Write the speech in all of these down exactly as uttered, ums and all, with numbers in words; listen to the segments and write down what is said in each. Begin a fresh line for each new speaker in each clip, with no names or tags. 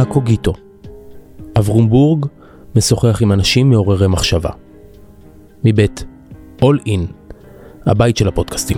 קוגיטו. אברום בורג משוחח עם אנשים מעוררי מחשבה. מבית All In, הבית של הפודקאסטים.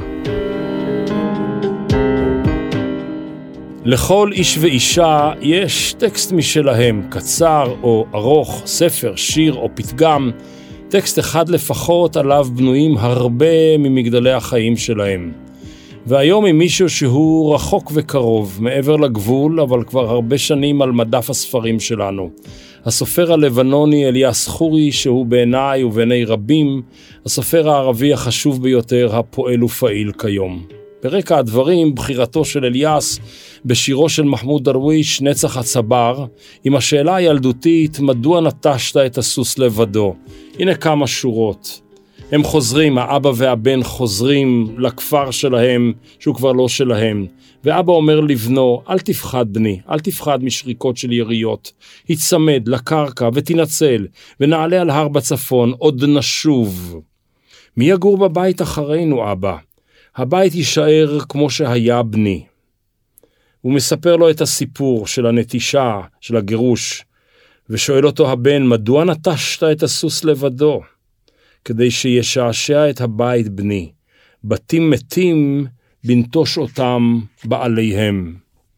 לכל איש ואישה יש טקסט משלהם, קצר או ארוך, ספר, שיר או פתגם, טקסט אחד לפחות עליו בנויים הרבה ממגדלי החיים שלהם. והיום עם מישהו שהוא רחוק וקרוב, מעבר לגבול, אבל כבר הרבה שנים על מדף הספרים שלנו. הסופר הלבנוני אליאס חורי, שהוא בעיניי ובעיני רבים, הסופר הערבי החשוב ביותר, הפועל ופעיל כיום. ברקע הדברים, בחירתו של אליאס בשירו של מחמוד דרוויש, נצח הצבר, עם השאלה הילדותית, מדוע נטשת את הסוס לבדו? הנה כמה שורות. הם חוזרים, האבא והבן חוזרים לכפר שלהם, שהוא כבר לא שלהם. ואבא אומר לבנו, אל תפחד בני, אל תפחד משריקות של יריות. הצמד לקרקע ותנצל, ונעלה על הר בצפון, עוד נשוב. מי יגור בבית אחרינו, אבא? הבית יישאר כמו שהיה בני. הוא מספר לו את הסיפור של הנטישה, של הגירוש, ושואל אותו הבן, מדוע נטשת את הסוס לבדו? כדי שישעשע את הבית בני. בתים מתים, בנטוש אותם בעליהם.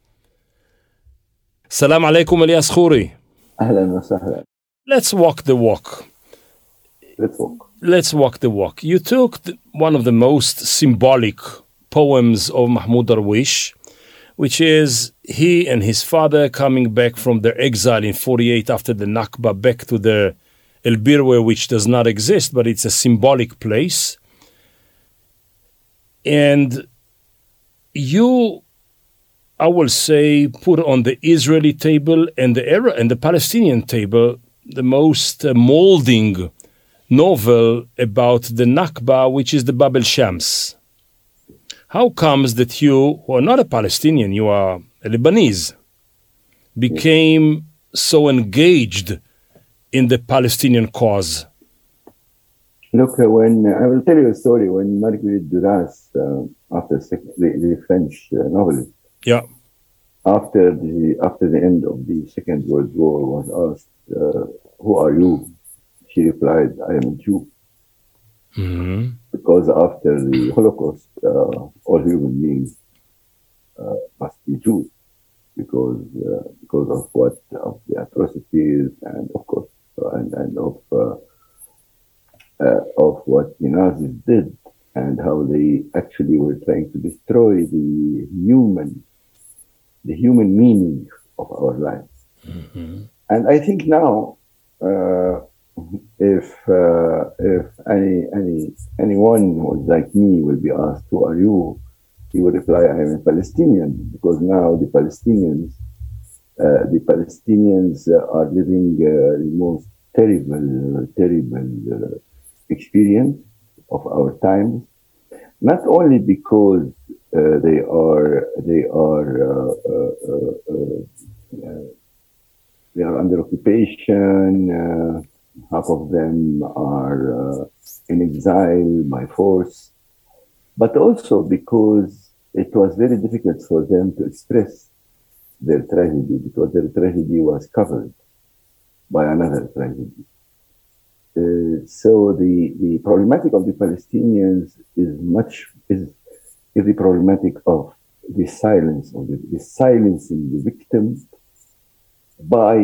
סלام עליכם אליאס חורי.
אהלן וסהלן.
Let's walk the walk.
Let's walk.
Let's walk the walk. You took the, one of the most symbolic poems of Mahmoud Darwish, which is he and his father coming back from their exile in forty-eight after the Nakba back to the El Birwe, which does not exist, but it's a symbolic place. And you, I will say, put on the Israeli table and the Arab and the Palestinian table the most uh, molding novel about the Nakba, which is the Bab el Shams. How comes that you, who are not a Palestinian, you are a Lebanese, became so engaged in the Palestinian cause?
Look, uh, when uh, I will tell you a story. When Marguerite Duras, uh, after sec- the, the French uh, novelist,
yeah,
after the after the end of the Second World War, was asked, uh, "Who are you?" She replied, "I am a Jew."
Mm-hmm.
Because after the Holocaust, uh, all human beings uh, must be Jews, because uh, because of what of the atrocities and of course and and of uh, uh, of what the Nazis did and how they actually were trying to destroy the human the human meaning of our lives.
Mm-hmm.
And I think now. Uh, If uh, if any any anyone who is like me will be asked, "Who are you?" he will reply, "I am a Palestinian," because now the Palestinians uh, the Palestinians uh, are living uh, the most terrible terrible uh, experience of our times. Not only because uh, they are they are uh, uh, uh, uh, uh, they are under occupation. Uh, Half of them are uh, in exile by force, but also because it was very difficult for them to express their tragedy because their tragedy was covered by another tragedy. Uh, so the, the problematic of the Palestinians is much is, is the problematic of the silence of the, the silencing the victim by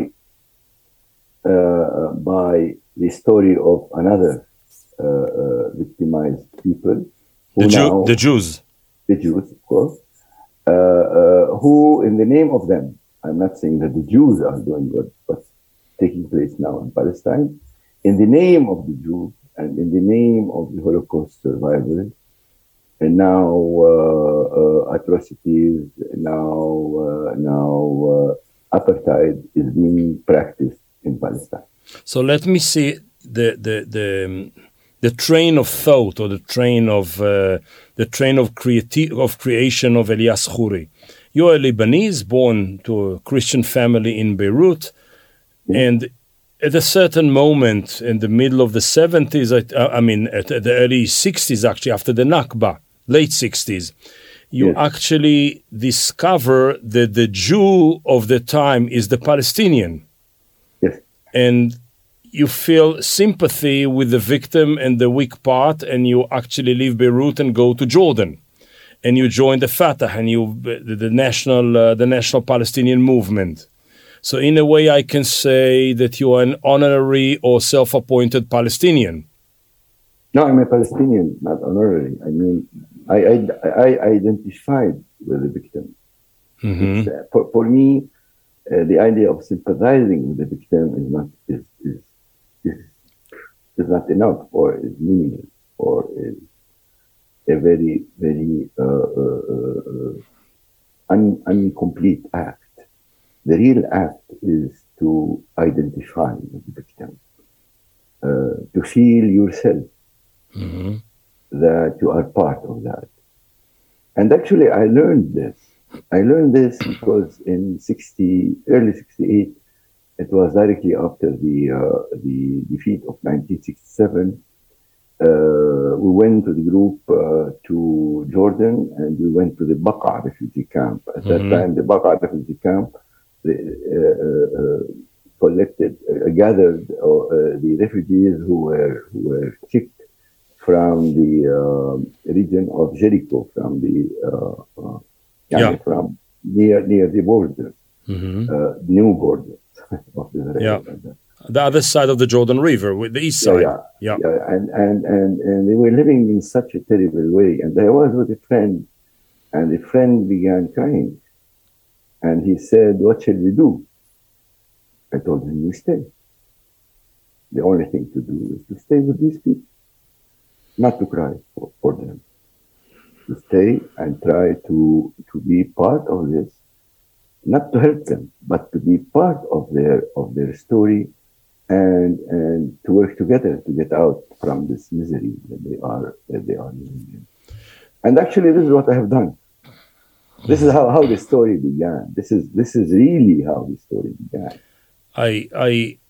Uh, by the story of another uh, uh, victimized people. Who
the, Jew,
now,
the Jews.
The Jews, of course. Uh, uh, who, in the name of them, I'm not saying that the Jews are doing what, what's taking place now in Palestine, in the name of the Jews and in the name of the Holocaust survivors, and now uh, uh, atrocities, now, uh, now uh, apartheid is being practiced in Palestine.
So let me see the the the the train of thought or the train of uh, the train of creati- of creation of Elias Khoury. You're a Lebanese born to a Christian family in Beirut, mm-hmm. and at a certain moment in the middle of the seventies, I, I mean at the early sixties actually, after the Nakba, late sixties, you
Yes.
actually discover that the Jew of the time is the Palestinian.
Yes.
And you feel sympathy with the victim and the weak part, and you actually leave Beirut and go to Jordan. And you join the Fatah and you the, the national uh, the national Palestinian movement. So in a way, I can say that you are an honorary or self-appointed Palestinian.
No, I'm a Palestinian, not honorary. I mean, I I, I identified with the victim.
Mm-hmm.
It's, uh, for, for me, uh, the idea of sympathizing with the victim is not is is is, is not enough, or is meaningless, or is a very very uh, uh, uh, un, incomplete act. The real act is to identify with the victim, uh, to feel yourself
Mm-hmm.
that you are part of that. And actually, I learned this. I learned this because in sixty, early sixty-eight, it was directly after the uh, the defeat of nineteen sixty-seven. Uh, we went to the group uh, to Jordan, and we went to the Baqa refugee camp. At that
Mhm.
time, the Baqa refugee camp the, uh, uh, collected, uh, gathered uh, uh, the refugees who were who were kicked from the uh, region of Jericho, from the uh, uh,
Yeah.
from near near the border,
Mhm.
uh, new borders of Israel.
Yeah. The other side of the Jordan River, with the east
Yeah,
side.
yeah,
Yeah.
yeah. And, and, and, and they were living in such a terrible way. And I was with a friend, and the friend began crying. And he said, "What shall we do?" I told him, "We stay. The only thing to do is to stay with these people, not to cry for, for them. To stay and try to, to be part of this, not to help them, but to be part of their of their story, and and to work together to get out from this misery that they are that they are living in." And actually, this is what I have done. This is how, how the story began. This is this is really how the story began.
I I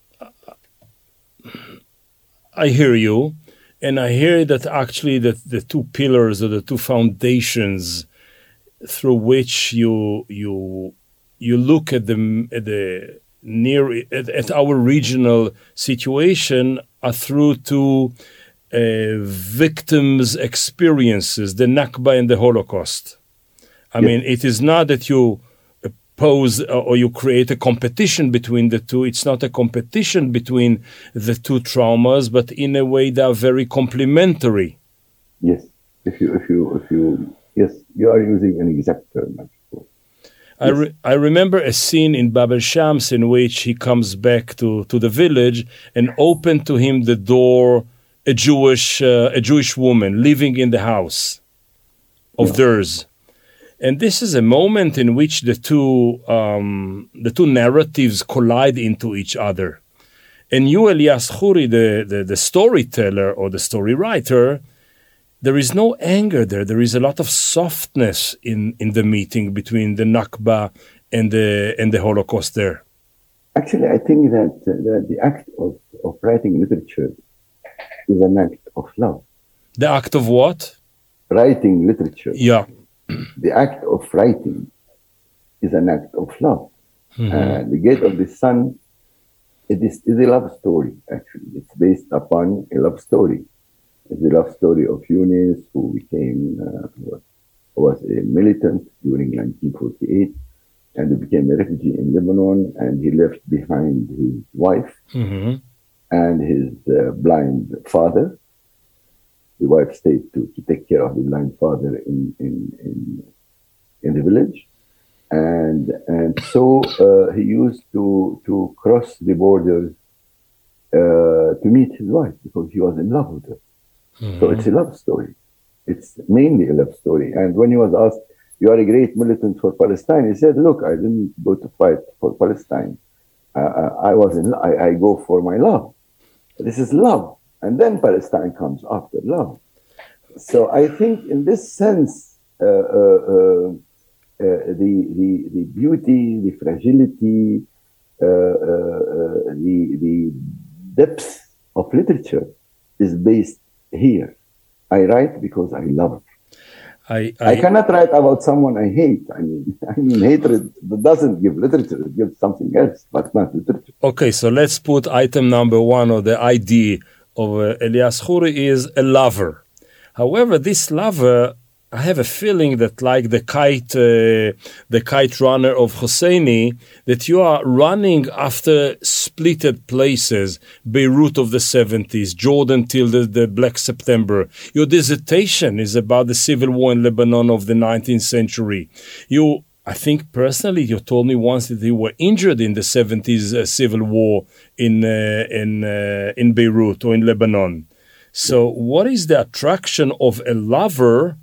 I hear you, and I hear that actually that the two pillars or the two foundations through which you you you look at the at the near at, at our regional situation are through two uh, victims' experiences, the Nakba and the Holocaust. I
Yes.
mean, it is not that you pose or you create a competition between the two. It's not a competition between the two traumas, but in a way they are very complementary.
Yes, if you if you if you yes, you are using an exact term.
I, re- I remember a scene in Bab el Shams in which he comes back to, to the village and opened to him the door a Jewish uh, a Jewish woman living in the house of
Yeah.
theirs. And this is a moment in which the two um, the two narratives collide into each other. And you, Elias Khoury, the, the, the storyteller or the story writer, there is no anger there. There is a lot of softness in, in the meeting between the Nakba and the and the Holocaust there.
Actually, I think that, uh, that the act of, of writing literature is an act of love.
The act of what?
Writing literature,
Yeah.
the act of writing is an act of love.
Mhm.
Uh, the Gate of the Sun, it is, is a love story, actually. It's based upon a love story. It's the love story of Yunus, who became, uh, was, was a militant during nineteen forty-eight, and he became a refugee in Lebanon, and he left behind his wife
hmm
and his uh, blind father. The wife stayed to, to take care of the blind father in, in, in, in the village. And and so uh, he used to, to cross the borders uh, to meet his wife because he was in love with her. So it's a love story. It's mainly a love story. And when he was asked, "You are a great militant for Palestine," he said, "Look, I didn't go to fight for Palestine. Uh, I was in. I, I go for my love. This is love, and then Palestine comes after love." So I think, in this sense, uh, uh, uh, uh, the the the beauty, the fragility, uh, uh, uh, the the depth of literature is based here. I write because I love.
I,
I,
I,
cannot write about someone I hate. I mean, I mean, hatred doesn't give literature; it gives something else, but not literature.
Okay, so let's put item number one of the I D of uh, Elias Khoury is a lover. However, this lover, I have a feeling that, like the kite, uh, the kite runner of Hosseini, that you are running after splitted places, Beirut of the seventies, Jordan till the, the Black September. Your dissertation is about the civil war in Lebanon of the nineteenth century. You, I think personally, you told me once that you were injured in the seventies uh, civil war in uh, in uh, in Beirut or in Lebanon. So, what is the attraction of a lover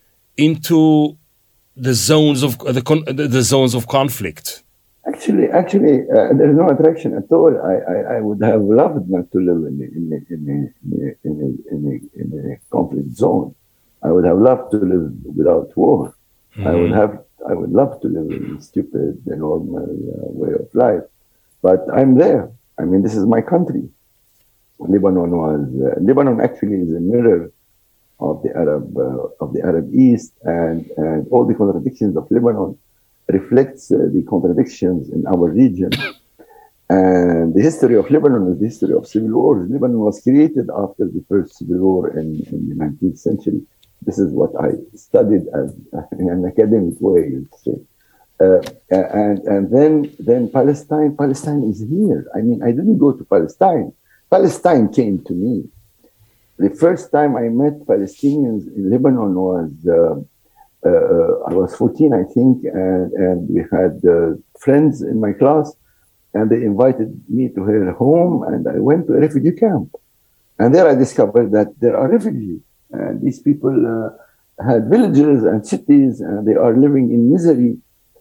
into the zones of the con- the zones of conflict?
Actually, actually, uh, there is no attraction at all. I, I, I would have loved not to live in a, in a, in a, in a, in a, in a conflict zone. I would have loved to live without war. Mm-hmm. I would have. I would love to live in a stupid, normal uh, way of life. But I'm there. I mean, this is my country. Lebanon was. Uh, Lebanon actually is a mirror of the Arab uh, of the Arab East, and, and all the contradictions of Lebanon reflects uh, the contradictions in our region. And the history of Lebanon is the history of civil wars. Lebanon was created after the first civil war in, in the nineteenth century. This is what I studied as in an academic way, you'd say. Uh, and and then then Palestine Palestine is here. I mean, I didn't go to Palestine. Palestine came to me. The first time I met Palestinians in Lebanon was, uh, uh, I was fourteen, I think, and, and we had uh, friends in my class, and they invited me to their home, and I went to a refugee camp. And there I discovered that there are refugees, and these people uh, had villages and cities, and they are living in misery.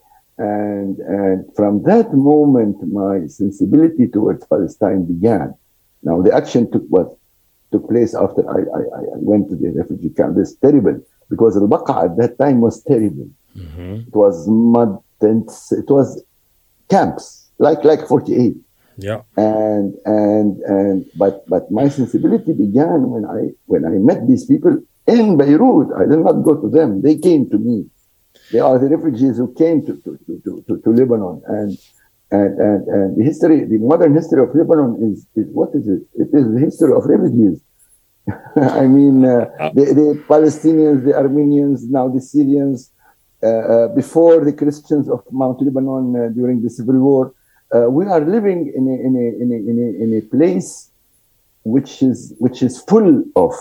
And, and from that moment, my sensibility towards Palestine began. Now, the action took what? took place after I, I, I went to the refugee camp. This is terrible, because Al-Baqa at that time was terrible. Mm-hmm. It was mud tents, it was camps, like like forty-eight.
Yeah.
And and and but but my sensibility began when I when I met these people in Beirut. I did not go to them. They came to me. They are the refugees who came to to, to, to, to Lebanon. And And, and, and the history, the modern history of Lebanon is, is what is it? It is the history of refugees. I mean, uh, the, the Palestinians, the Armenians, now the Syrians, uh, uh, before the Christians of Mount Lebanon uh, during the Civil War. Uh, we are living in a, in a, in a, in a, in a place which is, which is full of,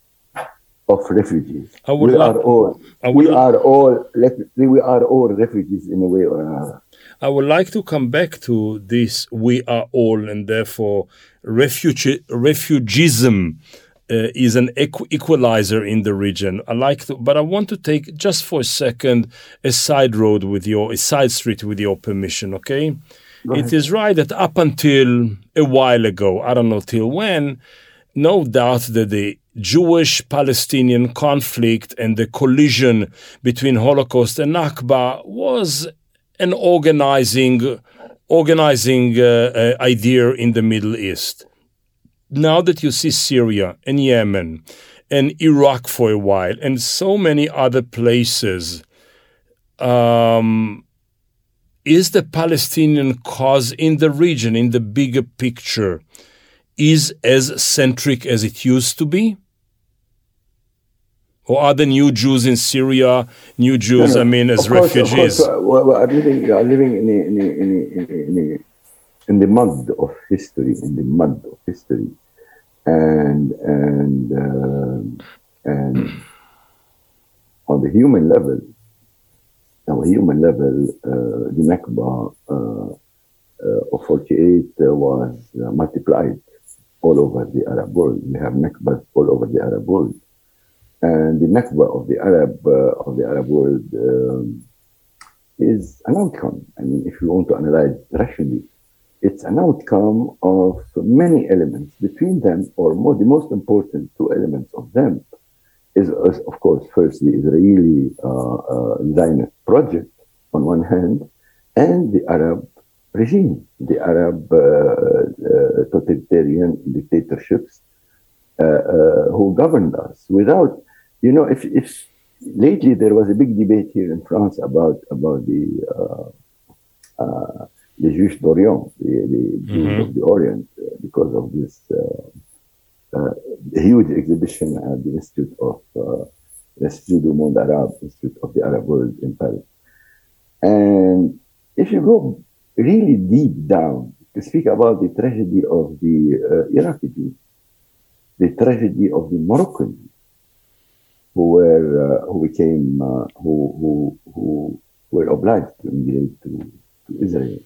of refugees. We like, are all, we are all, we are all refugees in a way or another.
I would like to come back to this we are all, and therefore refuge, refugeism uh, is an equ- equalizer in the region. I like to, but I want to take just for a second a side road with your, a side street with your permission, okay? It is right that up until a while ago, I don't know till when, no doubt that the Jewish-Palestinian conflict and the collision between Holocaust and Nakba was an organizing, organizing uh, uh, idea in the Middle East. Now that you see Syria and Yemen and Iraq for a while and so many other places, um, is the Palestinian cause in the region, in the bigger picture, is as centric as it used to be? Or are the new Jews in Syria, new Jews, no, no. I mean, as
course,
refugees?
Of course, well, we are living, we are living in, a, in, a, in, a, in, a, in the mud of history, in the mud of history. And, and, uh, and on the human level, on the human level, uh, the Nakba uh, uh, of forty-eight uh, was uh, multiplied all over the Arab world. We have Nakbas all over the Arab world. And the Nakba of the Arab uh, of the Arab world um, is an outcome. I mean, if you want to analyze rationally, it's an outcome of many elements. Between them, or more, the most important two elements of them, is, is of course, first the Israeli uh, uh, Zionist project on one hand, and the Arab regime, the Arab uh, uh, totalitarian dictatorships uh, uh, who governed us without. You know, if, if lately there was a big debate here in France about about the uh, uh, the Juifs d'Orient, the, the Jews
Mm-hmm.
of the Orient, uh, because of this uh, uh, huge exhibition at the Institute of uh, Institut du Monde Arabe, Institute of the Arab World in Paris. And if you go really deep down to speak about the tragedy of the uh, Iraqi Jews, the tragedy of the Moroccan Jews, who were uh, who became uh, who who who were obliged to immigrate to, to Israel.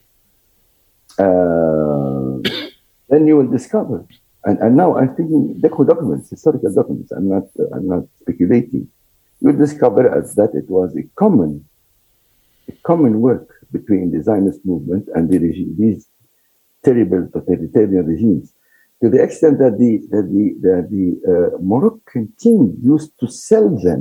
Uh, then you will discover, and, and now I'm thinking documents, historical documents. I'm not uh, I'm not speculating. You will discover that it was a common a common work between the Zionist movement and the regime, these terrible totalitarian regimes, to the extent that the that the that the uh, Moroccan king used to sell them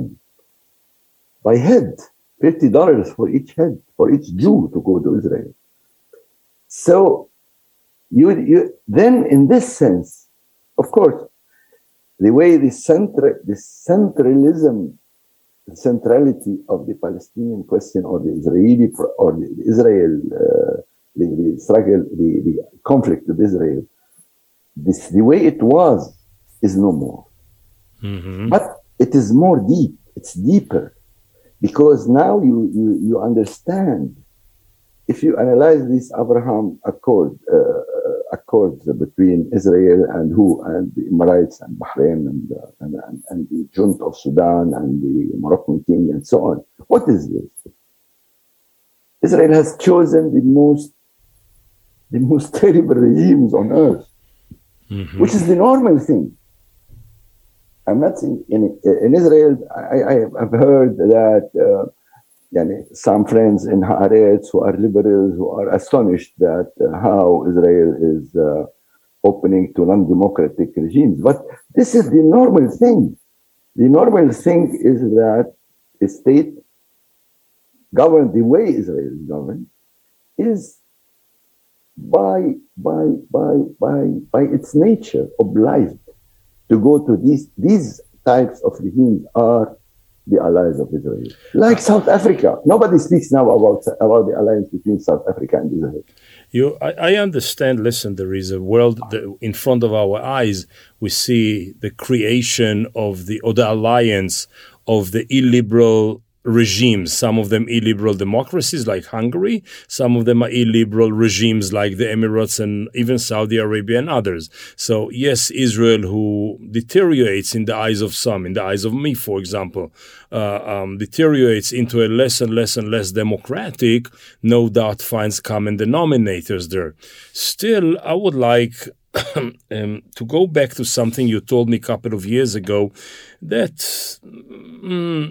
by head, fifty dollars for each head, for each Jew to go to Israel. So you you then in this sense, of course, the way the central the centralism, the centrality of the Palestinian question or the Israeli or the Israel uh, the, the struggle, the, the conflict with Israel. This, the way it was is no more.
Mm-hmm.
But it is more deep, it's deeper, because now you, you, you understand, if you analyze this Abraham Accord, uh, accords between Israel and who, and the Emirates and Bahrain and, uh, and, and, and the junta of Sudan and the Moroccan king and so on. What is this? Israel has chosen the most, the most terrible regimes on earth. Mm-hmm. Which is the normal thing. I'm not saying in, in Israel, I, I have heard that uh, yani, some friends in Haaretz who are liberals who are astonished that uh, how Israel is uh, opening to non-democratic regimes. But this is the normal thing. The normal thing is that a state governed the way Israel is governed is by by by by by its nature obliged to go to these these types of regimes are the allies of Israel, like South Africa. Nobody speaks now about about the alliance between South Africa and Israel.
You, I, I understand. Listen, there is a world that in front of our eyes. We see the creation of the or the alliance of the illiberal regimes, some of them illiberal democracies like Hungary, some of them are illiberal regimes like the Emirates and even Saudi Arabia and others. So yes, Israel, who deteriorates in the eyes of some, in the eyes of me, for example, uh, um, deteriorates into a less and less and less democratic, no doubt finds common denominators there. Still, I would like um, to go back to something you told me a couple of years ago that mm,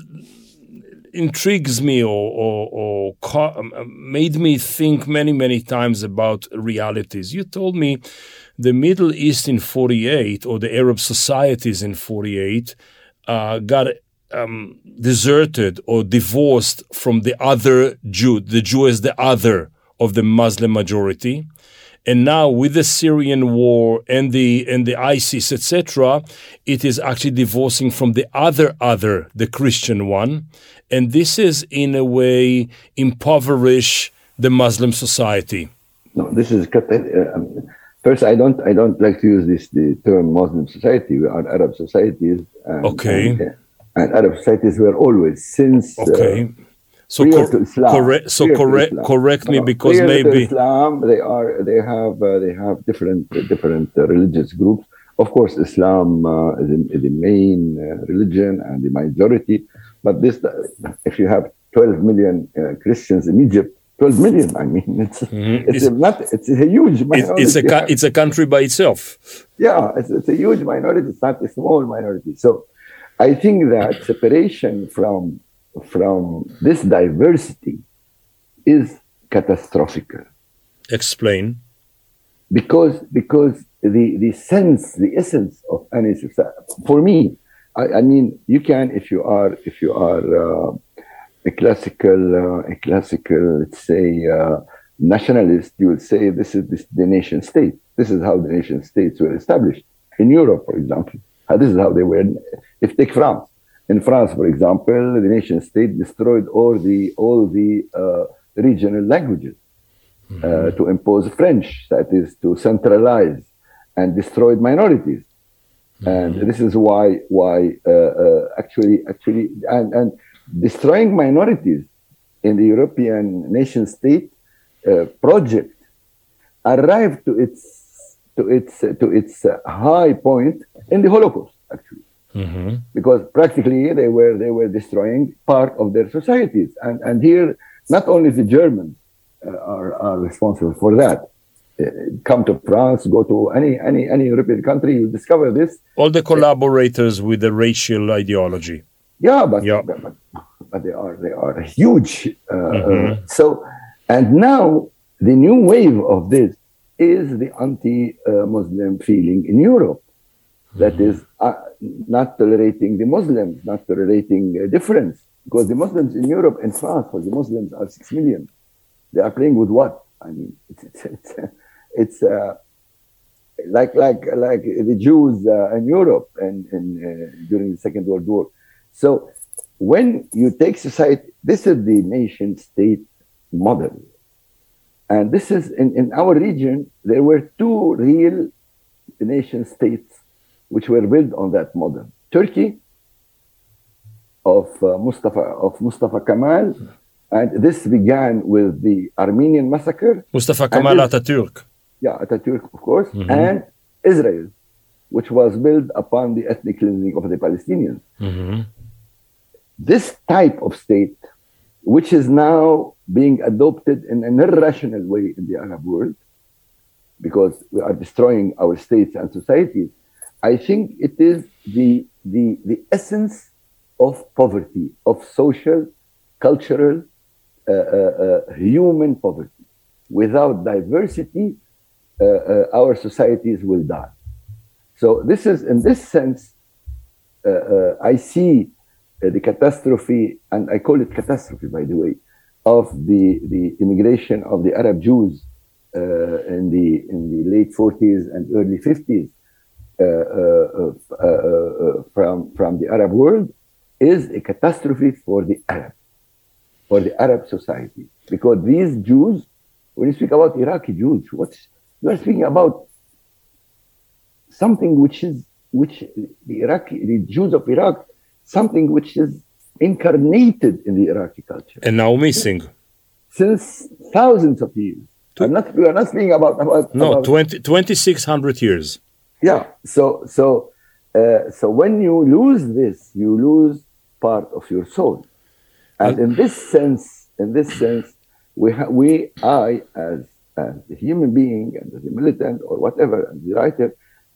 intrigues me or, or, or ca- made me think many, many times about realities. You told me the Middle East in forty-eight, or the Arab societies in forty-eight, uh, got um, deserted or divorced from the other Jew, the Jew as the other of the Muslim majority. And now with the Syrian war and the and the ISIS, et cetera, it is actually divorcing from the other other, the Christian one. And this is, in a way, impoverish the Muslim society.
No, this is uh, first. I don't. I don't like to use this the term Muslim society. We are Arab societies. And,
okay.
And, and Arab societies were always since.
Okay.
Uh,
So, cor- correct. So correct. Correct me,
no,
because maybe
to Islam they are. They have. Uh, they have different uh, different uh, religious groups. Of course, Islam uh, is, is the main uh, religion and the majority. But this, uh, if you have twelve million uh, Christians in Egypt, twelve million. I mean, it's mm-hmm. it's, it's a not. It's a huge minority.
It's a ca- it's a country by itself.
Yeah, it's, it's a huge minority. It's not a small minority. So, I think that separation from from this diversity is catastrophic.
Explain.
Because because the, the sense, the essence of any society, for me, I, I mean, you can, if you are, if you are uh, a classical, uh, a classical, let's say, uh, nationalist, you will say this is this, the nation state. This is how the nation states were established in Europe, for example. This is how they were. If take France, In France, for example, the nation state destroyed all the all the uh, regional languages mm-hmm. uh, to impose French, that is, to centralize, and destroyed minorities. Mm-hmm. And this is why why uh, uh, actually actually and, and destroying minorities in the European nation state uh, project arrived to its to its uh, to its uh, high point in the Holocaust, actually. Mm-hmm. Because practically they were they were destroying part of their societies, and and here not only the Germans uh, are are responsible for that. Uh, come to France, go to any any any European country, you discover this.
All the collaborators with the racial ideology.
Yeah, but yeah. but, but they are they are huge. Uh, mm-hmm. uh, so and now the new wave of this is the anti-Muslim uh, feeling in Europe. That is uh, not tolerating the Muslims, not tolerating uh, difference. Because the Muslims in Europe and France, for the Muslims, are six million. They are playing with what? I mean, it's it's it's, it's uh, like like like the Jews uh, in Europe and, and uh, during the Second World War. So when you take society, this is the nation-state model, and this is in, in our region. There were two real nation-states which were built on that model. Turkey of uh, Mustafa of Mustafa Kemal, and this began with the Armenian massacre.
Mustafa Kemal Atatürk.
Yeah, Atatürk, of course, mm-hmm. and Israel, which was built upon the ethnic cleansing of the Palestinians. Mm-hmm. This type of state, which is now being adopted in an irrational way in the Arab world, because we are destroying our states and societies, I think it is the, the, the essence of poverty, of social, cultural, uh, uh, uh, human poverty. Without diversity, uh, uh, our societies will die. So this is, in this sense, uh, uh, I see uh, the catastrophe, and I call it catastrophe, by the way, of the, the immigration of the Arab Jews uh, in the in the late forties and early fifties. Uh, uh, uh, uh, from from the Arab world is a catastrophe for the Arab, for the Arab society, because these Jews, when you speak about Iraqi Jews, what's you are speaking about something which is which the Iraqi the Jews of Iraq, something which is incarnated in the Iraqi culture
and now missing
since thousands of years. I'm not we are not speaking about about
no
about,
twenty, twenty-six hundred years.
Yeah, so so uh, so when you lose this, you lose part of your soul, and in this sense, in this sense, we ha- we I as as a human being and as a militant or whatever, and the writer,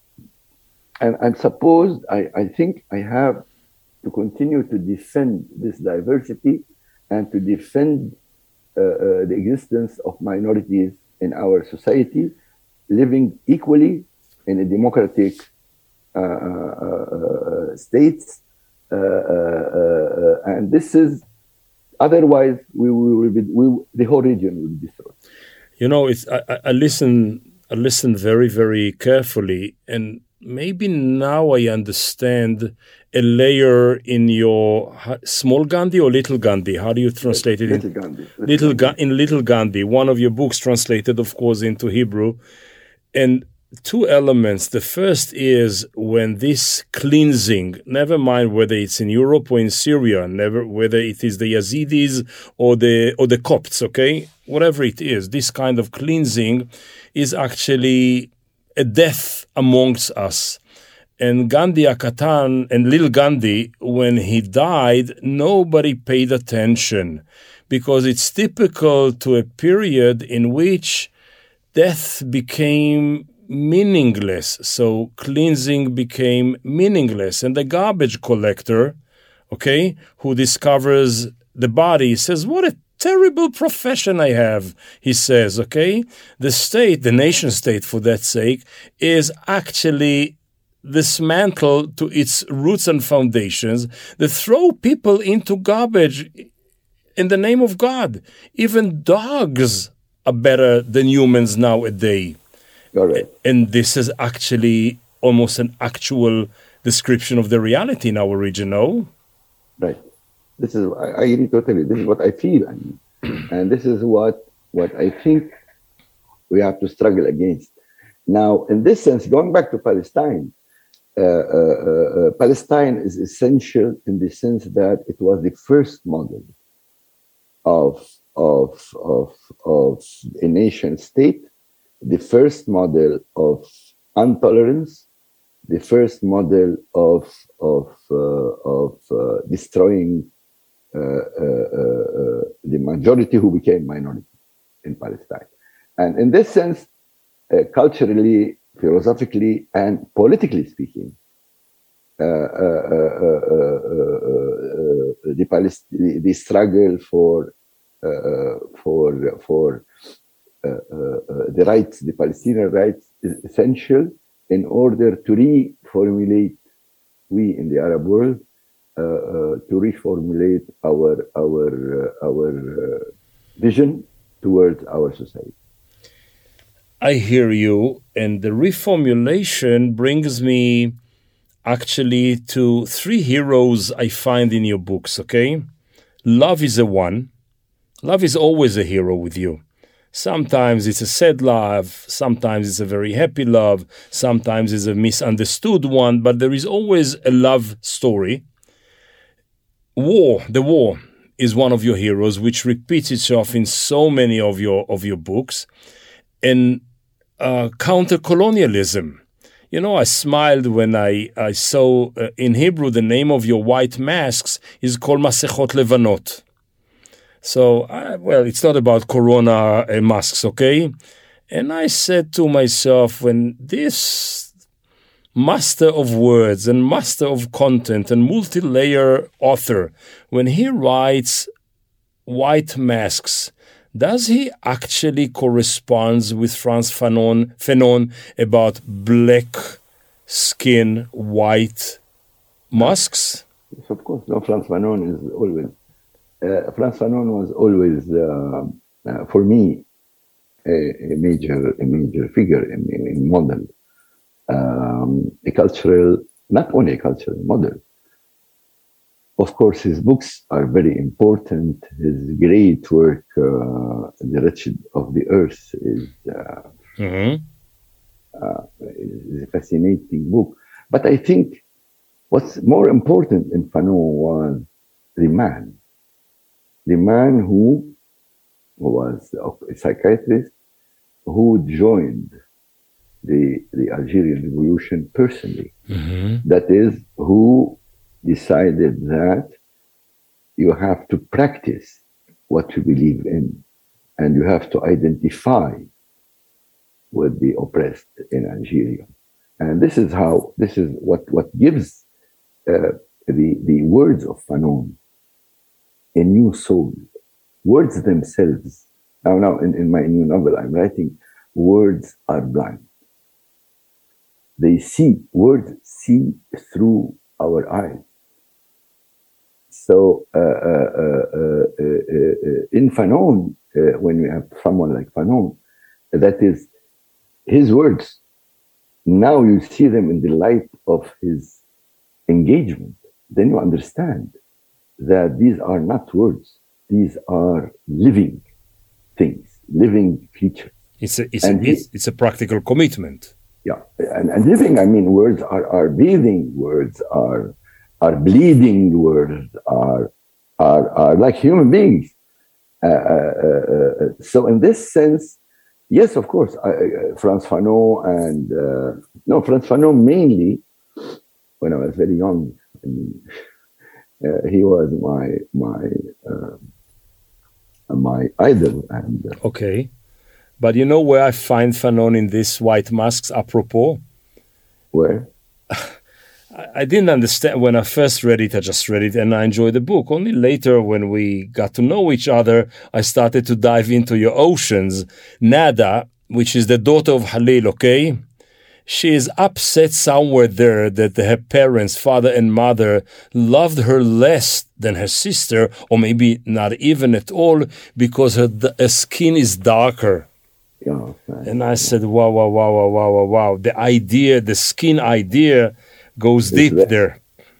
and I'm supposed I I think I have to continue to defend this diversity and to defend uh, uh, the existence of minorities in our society, living equally in a democratic uh, uh, states, uh, uh, uh, and this is otherwise we, we will be we, the whole region will be destroyed.
You know, it's I, I listen I listen very very carefully, and maybe now I understand a layer in your small Gandhi or little Gandhi. How do you translate it?
Little
in,
Gandhi. Little,
little
Gandhi.
Ga- in Little Gandhi, one of your books translated, of course, into Hebrew, and. Two elements. The first is when this cleansing, never mind whether it's in Europe or in Syria, never whether it is the Yazidis or the or the Copts, okay, whatever it is, this kind of cleansing is actually a death amongst us. And Gandhi Akatan and Lil Gandhi, when he died, nobody paid attention because it's typical to a period in which death became meaningless. So cleansing became meaningless. And the garbage collector, okay, who discovers the body says, what a terrible profession I have, he says, okay? The state, the nation state for that sake, is actually dismantled to its roots and foundations that throw people into garbage in the name of God. Even dogs are better than humans nowadays.
Right.
And this is actually almost an actual description of the reality in our region, no?
Right. This is, I, I agree totally. This is what I feel. I mean. And this is what, what I think we have to struggle against. Now, in this sense, going back to Palestine, uh, uh, uh, Palestine is essential in the sense that it was the first model of, of, of, of a nation state, the first model of intolerance, the first model of, of, uh, of uh, destroying uh, uh, uh, the majority who became minority in Palestine. And in this sense, uh, culturally, philosophically, and politically speaking, uh, uh, uh, uh, uh, uh, the, Palest- the, the struggle for uh, for for uh, uh, uh, the rights, the Palestinian rights, is essential in order to reformulate, we in the Arab world, uh, uh, to reformulate our our uh, our uh, vision towards our society.
I hear you, and the reformulation brings me actually to three heroes I find in your books, okay? Love is a one. Love is always a hero with you. Sometimes it's a sad love, sometimes it's a very happy love, sometimes it's a misunderstood one, but there is always a love story. War, the war, is one of your heroes, which repeats itself in so many of your of your books. And uh, counter-colonialism. You know, I smiled when I, I saw uh, in Hebrew the name of your white masks is called Masechot Levanot. So, uh, well, it's not about corona uh, masks, okay? And I said to myself, when this master of words and master of content and multi-layer author, when he writes white masks, does he actually correspond with Frantz Fanon, Fanon about black skin, white masks?
Yes, of course. No, Frantz Fanon is always, uh, Frantz Fanon was always, uh, uh, for me, a, a major, a major figure, a, a model, um, a cultural, not only a cultural model. Of course, his books are very important. His great work, uh, The Wretched of the Earth, is, uh, mm-hmm. uh, is a fascinating book. But I think what's more important in Fanon was the man. The man who, who was a psychiatrist, who joined the, the Algerian Revolution personally. Mm-hmm. That is, who decided that you have to practice what you believe in, and you have to identify with the oppressed in Algeria. And this is how, this is what, what gives uh, the, the words of Fanon a new soul. Words themselves. Now, now in, in my new novel, I'm writing, words are blind. They see, words see through our eyes. So uh, uh, uh, uh, uh, in Fanon, uh, when we have someone like Fanon, that is his words. Now you see them in the light of his engagement. Then you understand that these are not words. These are living things, living features.
It's a, it's, a, he, it's, it's a practical commitment.
Yeah, and, and living, I mean, words are, are breathing, words are are bleeding, words are are, are like human beings. Uh, uh, uh, so in this sense, yes, of course, I, uh, Frantz Fanon and, uh, no, Frantz Fanon mainly, when I was very young, I mean, uh, he was my, my, uh, my idol. And uh,
okay. But you know where I find Fanon in these white masks, apropos?
Where?
I didn't understand when I first read it. I just read it and I enjoyed the book. Only later, when we got to know each other, I started to dive into your oceans. Nada, which is the daughter of Halil, okay? She is upset somewhere there that her parents, father and mother, loved her less than her sister, or maybe not even at all, because her, her skin is darker.
Yeah, right.
And I said, wow, wow, wow, wow, wow, wow, wow. The idea, the skin idea goes deep there.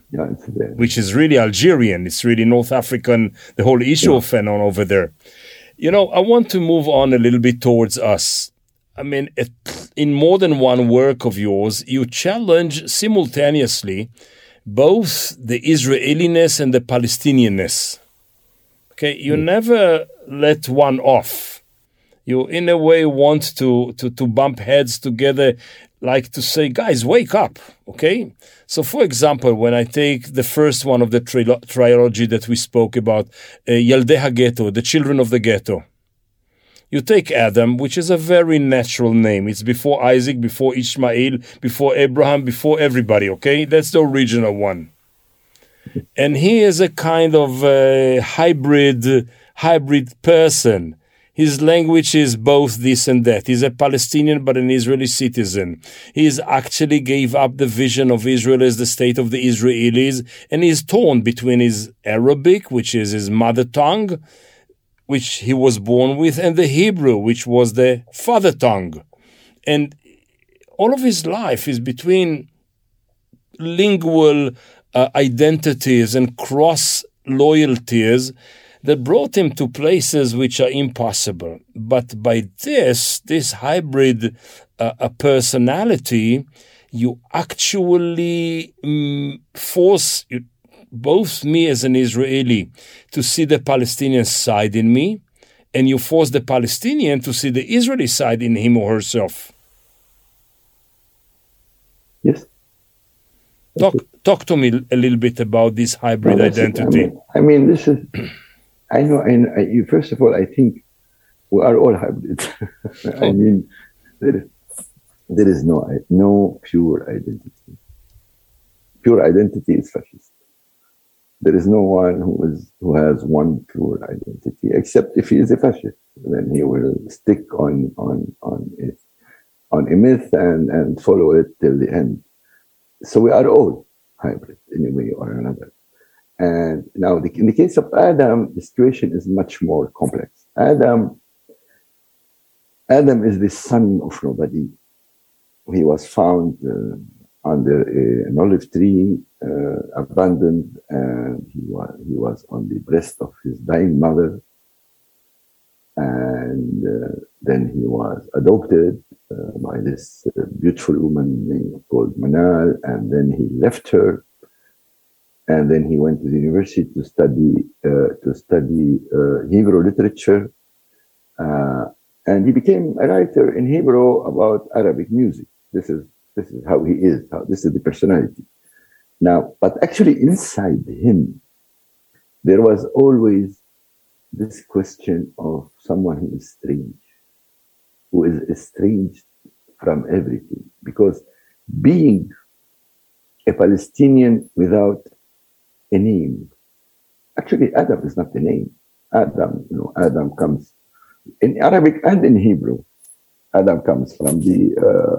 Yeah, it's there.
Which is really Algerian. It's really North African, the whole issue
Yeah.
of Fanon over there. You know, I want to move on a little bit towards us. I mean, it, in more than one work of yours, you challenge simultaneously both the Israeliness and the Palestinianness. Okay, you mm. never let one off. You, in a way, want to, to, to bump heads together, like to say, guys, wake up, okay? So, for example, when I take the first one of the tri- trilogy that we spoke about, uh, Yaldei HaGhetto, the children of the ghetto, you take Adam, which is a very natural name. It's before Isaac, before Ishmael, before Abraham, before everybody, okay? That's the original one. And he is a kind of uh, hybrid, hybrid person. His language is both this and that. He's a Palestinian but an Israeli citizen. He actually gave up the vision of Israel as the state of the Israelis, and he's torn between his Arabic, which is his mother tongue, which he was born with, and the Hebrew, which was the father tongue. And all of his life is between lingual uh, identities and cross-loyalties that brought him to places which are impossible. But by this, this hybrid uh, a personality, you actually um, force you, both me as an Israeli to see the Palestinian side in me, and you force the Palestinian to see the Israeli side in him or herself.
Yes.
Talk, talk to me a little bit about this hybrid
no,
identity.
I mean, I mean, this is... I know, and I, you, first of all, I think we are all hybrids. I mean, there is, there is no no pure identity. Pure identity is fascist. There is no one who is who has one pure identity, except if he is a fascist. Then he will stick on on on it, on a myth and and follow it till the end. So we are all hybrid in a way or another. And now, the, in the case of Adam, the situation is much more complex. Adam, Adam is the son of nobody. He was found uh, under a, an olive tree, uh, abandoned, and he was he was on the breast of his dying mother. And uh, then he was adopted uh, by this uh, beautiful woman named, called Manal, and then he left her. And then he went to the university to study uh, to study uh, Hebrew literature, uh, and he became a writer in Hebrew about Arabic music. This is this is how he is. How, this is the personality. Now, but actually, inside him, there was always this question of someone who is strange, who is estranged from everything, because being a Palestinian without a name. Actually, Adam is not the name. Adam, you know, Adam comes in Arabic and in Hebrew. Adam comes from the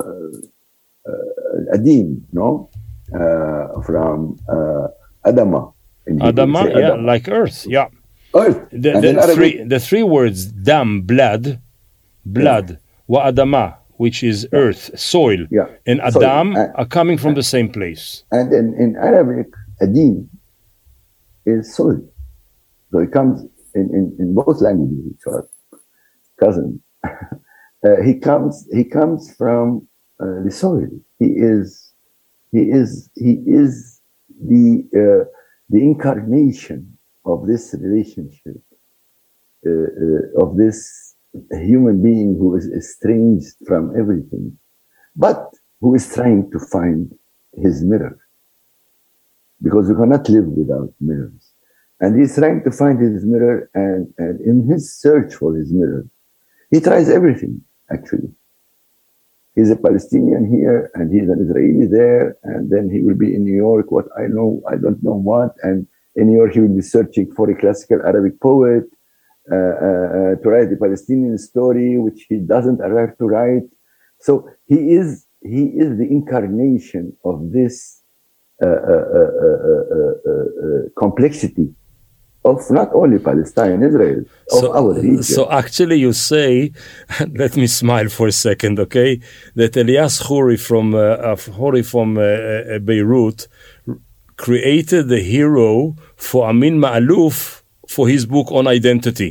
uh, uh, Adim, no, uh, from uh, Adama.
Adama, yeah, Adama. Like earth, yeah.
Earth.
The, the three, the three words dam, blood, blood, yeah. wa Adama, which is yeah. earth, soil,
yeah.
and Adam soil. are coming from the same place.
And in, in Arabic, Adim is soil. So it comes in, in, in both languages, which are cousins. uh, he comes he comes from uh, the soil. He is he is he is the uh, the incarnation of this relationship uh, uh, of this human being who is estranged from everything, but who is trying to find his mirror. Because you cannot live without mirrors. And he's trying to find his mirror, and, and in his search for his mirror, he tries everything, actually. He's a Palestinian here, and he's an Israeli there, and then he will be in New York, what I know, I don't know what, and in New York he will be searching for a classical Arabic poet uh, uh, to write the Palestinian story, which he doesn't arrive to write. So he is, he is the incarnation of this Uh, uh, uh, uh, uh, uh, complexity of not only Palestine, Israel, of
so,
our region.
So actually you say, let me smile for a second, okay, that Elias Khoury from, uh, Khoury from uh, uh, Beirut created the hero for Amin Ma'aluf for his book on identity.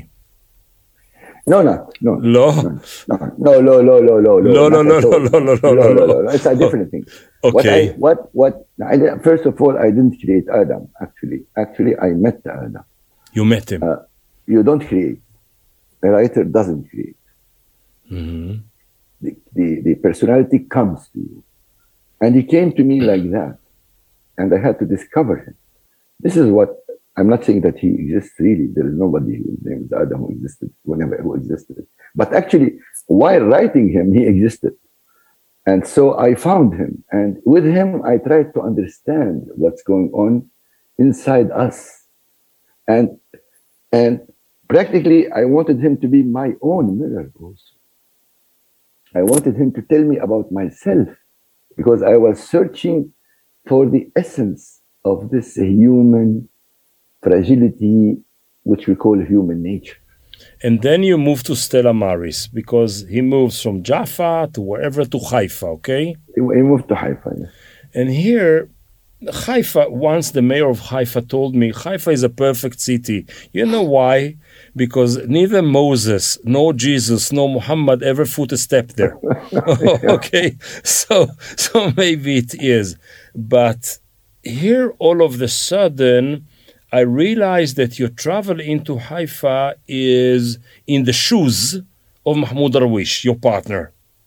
No, no, no.
No?
No, no, no, no, no, no.
No, no, no, no, no, no, no, no, no.
It's a different thing.
Okay.
What, I, what, what, I, first of all, I didn't create Adam, actually. Actually, I met Adam.
You met him.
Uh, you don't create. A writer doesn't create.
Mm-hmm.
The, the, the personality comes to you. And he came to me like that. And I had to discover him. This is what, I'm not saying that he exists really. There is nobody whose name is Adam who existed, whenever who existed. But actually, while writing him, he existed. And so I found him. And with him, I tried to understand what's going on inside us. And, and practically, I wanted him to be my own mirror also. I wanted him to tell me about myself, because I was searching for the essence of this human fragility, which we call human nature.
And then you move to Stella Maris, because he moves from Jaffa to wherever to Haifa, okay?
He moved to Haifa, yes.
And here, Haifa, once the mayor of Haifa told me, Haifa is a perfect city. You know why? Because neither Moses, nor Jesus, nor Muhammad ever foot a step there. Okay? So, so maybe it is. But here, all of a sudden, I realized that your travel into Haifa is in the shoes of Mahmoud Darwish, your partner.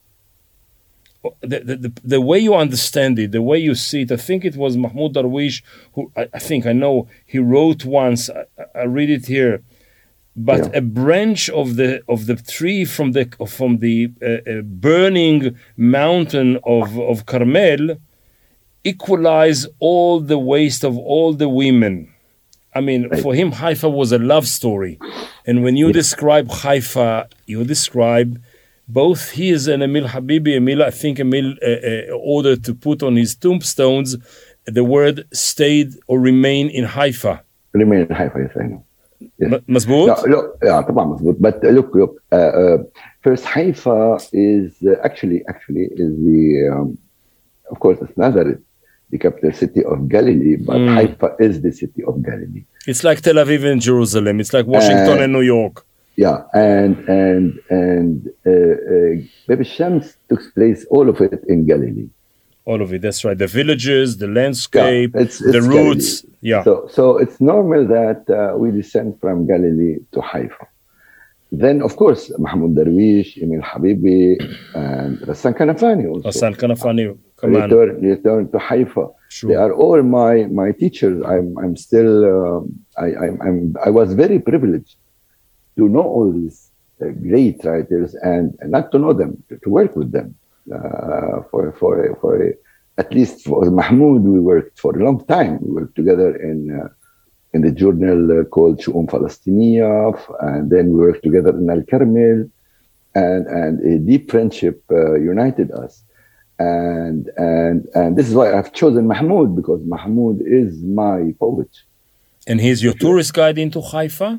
The, the, the, the way you understand it, the way you see it, I think it was Mahmoud Darwish who, I, I think, I know, he wrote once, I, I read it here, but yeah. a branch of the of the tree from the from the uh, uh, burning mountain of, of Carmel equalize all the waste of all the women. I mean, right. For him, Haifa was a love story. And when you yeah. describe Haifa, you describe both his and Emil Habibi. Emil, I think Emil uh, uh, ordered to put on his tombstones the word stayed or remain in Haifa.
Remain in Haifa, yes, I know. Yes.
مزبوط?
No, look, yeah, طبعا مزبوط. But uh, look, look. Uh, uh, first, Haifa is uh, actually, actually, is the, um, of course, it's Nazareth, the capital city of Galilee, but mm. Haifa is the city of Galilee.
It's like Tel Aviv and Jerusalem. It's like Washington uh, and New York.
Yeah, and and and uh, uh, Baby Shams took place, all of it in Galilee.
All of it, that's right. The villages, the landscape, yeah, it's, it's the roots.
Galilee.
Yeah.
So, so it's normal that uh, we descend from Galilee to Haifa. Then, of course, Mahmoud Darwish, Emil Habibi, and Rassan Kanafani also.
Rassan Kanafani, come on.
Return, return to Haifa.
Sure.
They are all my my teachers. I'm I'm still um, I I'm, I'm I was very privileged to know all these uh, great writers and, and not to know them, to, to work with them. Uh, for for for at least for Mahmoud, we worked for a long time. We worked together in uh, in the journal uh, called Shu'um Falastiniya, and then we worked together in Al Carmel, and and a deep friendship uh, united us. And and and this is why I've chosen Mahmoud, because Mahmoud is my poet.
And he's your tourist guide into Haifa?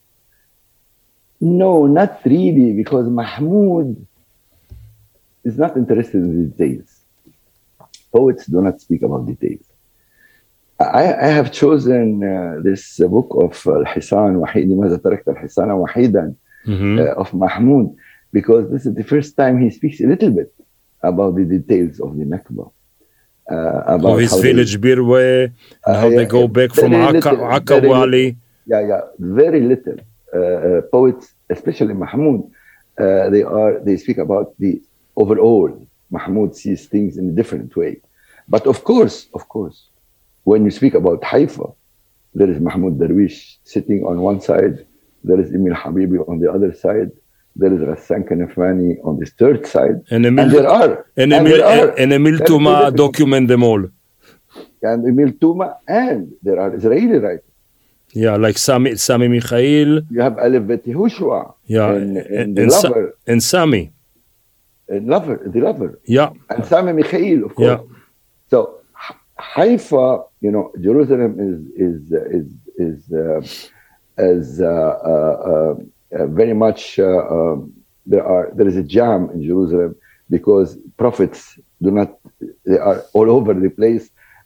No, not really, because Mahmoud is not interested in details. Poets do not speak about details. I, I have chosen uh, this uh, book of Al-Hisan Wahidi, ماذا تركت الحصان وحيدا, uh, of Mahmoud, because this is the first time he speaks a little bit about the details of the Nakba. Uh, about
of his
how
village they, Birwe, and uh, how yeah, they go back from Akka Wali.
Yeah, yeah, very little. Uh, uh, poets, especially Mahmoud, uh, they are they speak about the overall. Mahmoud sees things in a different way. But of course, of course, when you speak about Haifa, there is Mahmoud Darwish sitting on one side, there is Emil Habibi on the other side, there is Rassan Kanafani on the third side,
and, Emil,
and there are
and,
and
Emil,
there are,
and Emil Tuma document them all.
And Emil Tuma, and there are Israeli writers.
Yeah, like Sami, Sami Mikhail.
You have Aleph Bet Yehoshua.
Yeah,
and, and,
and,
the
and,
lover.
Sa- and Sami.
And lover, the lover.
Yeah.
And Sami Mikhail, of course.
Yeah.
So Haifa, you know, Jerusalem is is is is uh, is uh, uh, uh, very much uh, um, there are there is a jam in Jerusalem because prophets do not, they are all over the place,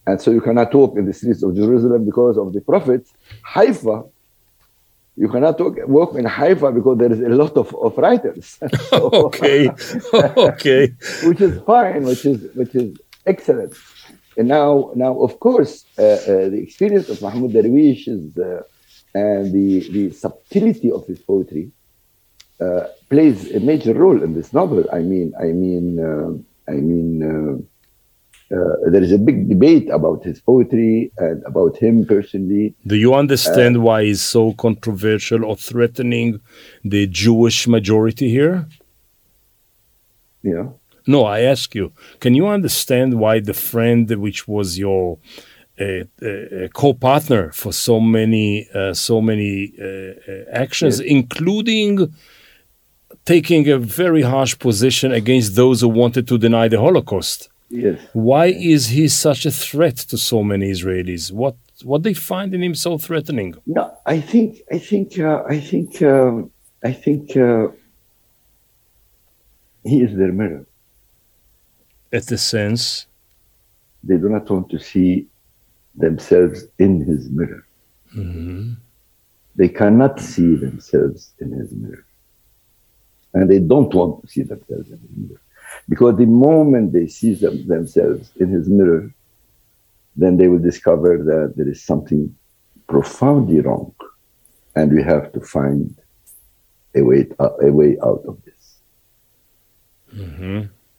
And so you cannot walk in the streets of Jerusalem because of the Prophet. Haifa, you cannot walk, walk in Haifa because there is a lot of, of writers. So,
okay, okay.
Which is fine, which is which is excellent. And now, now of course, uh, uh, the experience of Mahmoud Darwish is, uh, and the, the subtlety of his poetry uh, plays a major role in this novel. I mean, I mean, uh, I mean, uh, uh, there is a big debate about his poetry and about him personally.
Do you understand uh, why he's so controversial or threatening the Jewish majority here?
Yeah.
No, I ask you, can you understand why the friend which was your uh, uh, co-partner for so many uh, so many uh, actions, yes. including taking a very harsh position against those who wanted to deny the Holocaust?
Yes.
Why is he such a threat to so many Israelis? What what they find in him so threatening?
No, I think I think uh, I think um, I think uh, he is their mirror.
At the sense,
they do not want to see themselves in his mirror.
Mm-hmm. They
cannot see themselves in his mirror. And they don't want to see themselves in his mirror. Because the moment they see them, themselves in his mirror, then they will discover that there is something profoundly wrong. And we have to find a way, a way out of this.
Mm-hmm.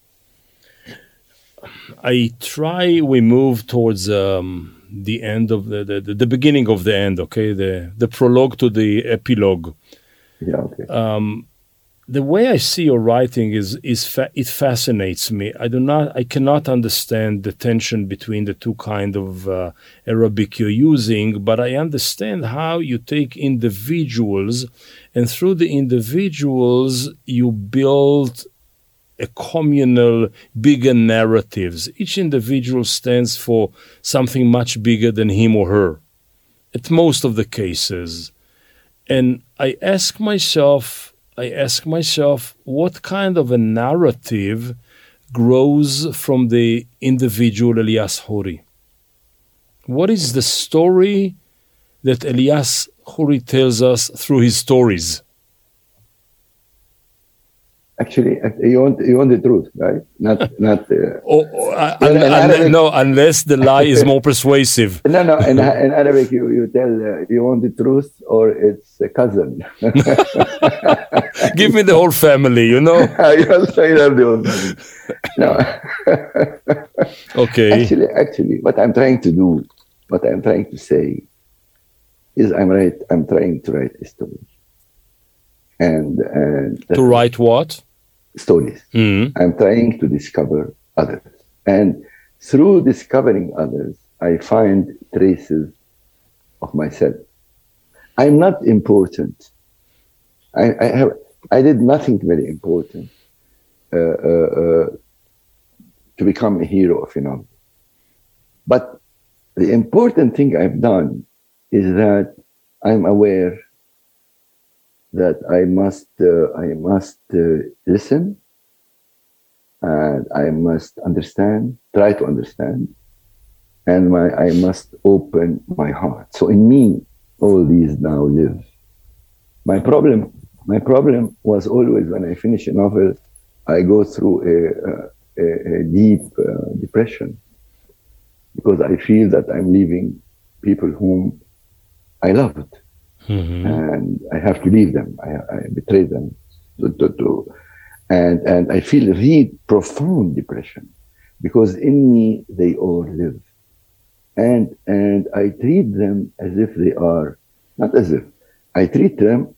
I try, we move towards um, the end of the, the, the beginning of the end, okay? The the prologue to the epilogue.
Yeah, okay.
Um, the way I see your writing is, is fa- it fascinates me. I do not, I cannot understand the tension between the two kind of uh, Arabic you're using, but I understand how you take individuals, and through the individuals, you build a communal, bigger narratives. Each individual stands for something much bigger than him or her, at most of the cases. And I ask myself, I ask myself, what kind of a narrative grows from the individual Elias Khoury? What is the story that Elias Khoury tells us through his stories?
Actually, you want you want the truth, right? Not not. Uh,
oh, oh, uh, un, un, Arabic, no, unless the lie is more persuasive.
No, no. In, in Arabic, you you tell uh, you want the truth, or it's a cousin.
Give me the whole family, you know.
You also have the whole family. No.
Okay.
Actually, actually, what I'm trying to do, what I'm trying to say, is I'm right. I'm trying to write a story. And, and
to write what?
Stories.
Mm-hmm.
I'm trying to discover others. And through discovering others, I find traces of myself. I'm not important. I, I, have, I did nothing very important uh, uh, uh, to become a hero of a novel. But the important thing I've done is that I'm aware that I must, uh, I must uh, listen, and I must understand, try to understand, and my, I must open my heart. So in me, all these now live. My problem, my problem was always when I finish a novel, I go through a, a, a deep uh, depression, because I feel that I'm leaving people whom I loved.
Mm-hmm.
And I have to leave them. I, I betray them. To, to, to, and, and I feel real profound depression, because in me they all live. And, and I treat them as if they are, not as if, I treat them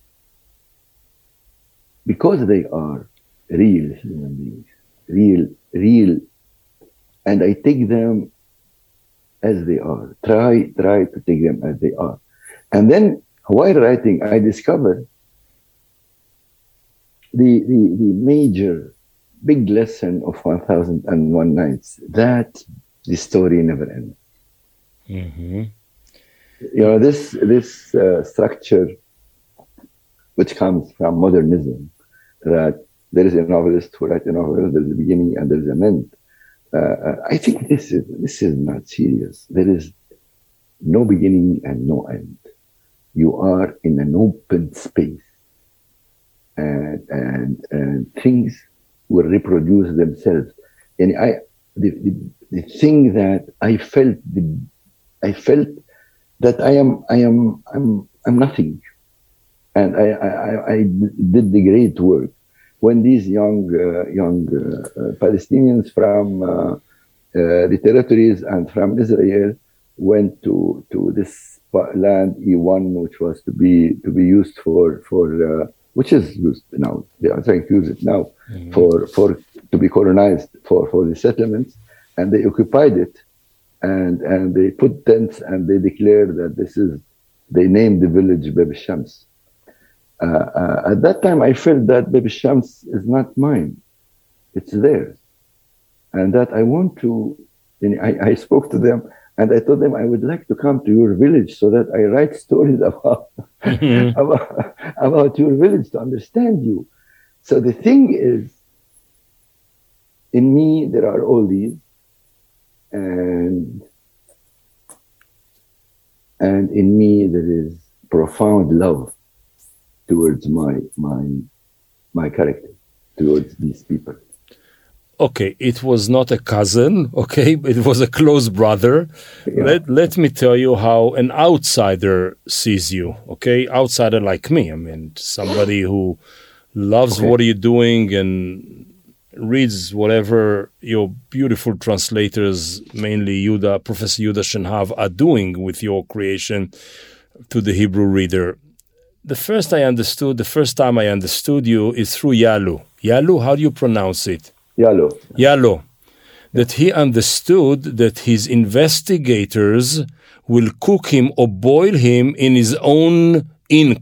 because they are real human beings, real, real, and I take them as they are. Try, try to take them as they are. And then while writing, I discovered the, the, the major, big lesson of one thousand and one Nights, that the story never ends.
Mm-hmm.
You know, this, this uh, structure, which comes from modernism, that there is a novelist who writes a novel, there's a beginning and there's an end. uh, I think this is this is not serious. There is no beginning and no end. You are in an open space, and and, and things will reproduce themselves. And I, the, the, the thing that I felt, the, I felt that I am, I am, I'm, I'm nothing, and I, I, I did the great work. When these young, uh, young uh, Palestinians from uh, uh, the territories and from Israel went to to this land E one, which was to be to be used for for uh, which is used now. They are trying to use it now mm-hmm. for for to be colonized for for the settlements, and they occupied it, and and they put tents and they declared that this is. They named the village Bab Shams. Uh, uh, at that time, I felt that Bab Shams is not mine; it's theirs, and that I want to. And I, I spoke to them. And I told them I would like to come to your village so that I write stories about, mm-hmm. about, about your village to understand you. So the thing is, in me, there are all these, and, and in me, there is profound love towards my, my, my character, towards these people.
Okay, it was not a cousin, okay, it was a close brother. Yeah. Let, let me tell you how an outsider sees you, okay? Outsider like me, I mean, somebody who loves okay. what you're doing and reads whatever your beautiful translators, mainly Yuda, Professor Yuda Shenhav, are doing with your creation to the Hebrew reader. The first I understood, the first time I understood you is through Yalu. Yalu, how do you pronounce it?
Yalo.
Yalo. That he understood that his investigators will cook him or boil him in his own ink.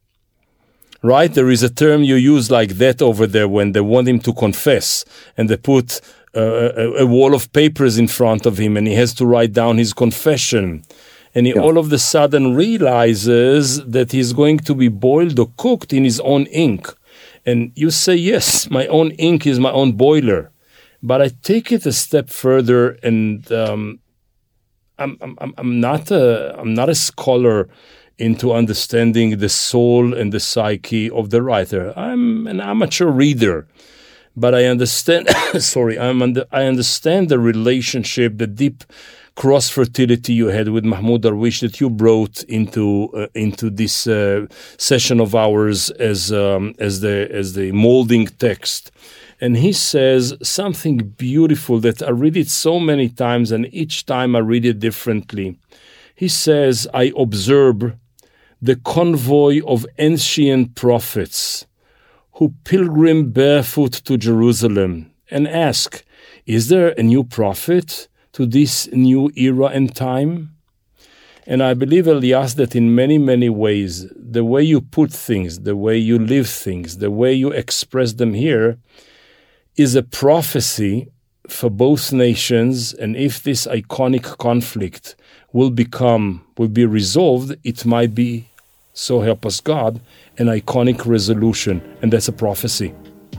Right? There is a term you use like that over there when they want him to confess and they put uh, a, a wall of papers in front of him and he has to write down his confession. And he yeah. all of a sudden realizes that he's going to be boiled or cooked in his own ink. And you say, yes, my own ink is my own boiler. But I take it a step further, and um, I'm, I'm, I'm, not a, I'm not a scholar into understanding the soul and the psyche of the writer. I'm an amateur reader. But I understand, sorry, I'm under, I understand the relationship, the deep cross-fertility you had with Mahmoud Darwish that you brought into uh, into this uh, session of ours as um, as the as the molding text. And he says something beautiful that I read it so many times, and each time I read it differently. He says, I observe the convoy of ancient prophets who pilgrim barefoot to Jerusalem and ask, is there a new prophet to this new era and time? And I believe, Elias, that in many, many ways, the way you put things, the way you live things, the way you express them here is a prophecy for both nations. And if this iconic conflict will become, will be resolved, it might be, so help us God, an iconic resolution. And that's a prophecy.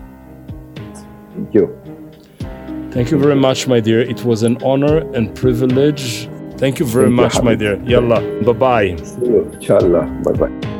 Thank you.
Thank you very much, my dear. It was an honor and privilege. Thank you very Thank much, you, my dear. Yalla, bye-bye.
See you. Inshallah. Bye-bye.